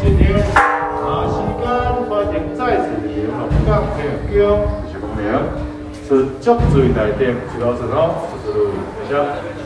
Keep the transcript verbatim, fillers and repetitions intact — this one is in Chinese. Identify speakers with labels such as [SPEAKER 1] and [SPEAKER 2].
[SPEAKER 1] 今天啊，時間歡迎再次蒞臨龍崗天宮，就是講明是足水內底一路順哦，就是謝謝。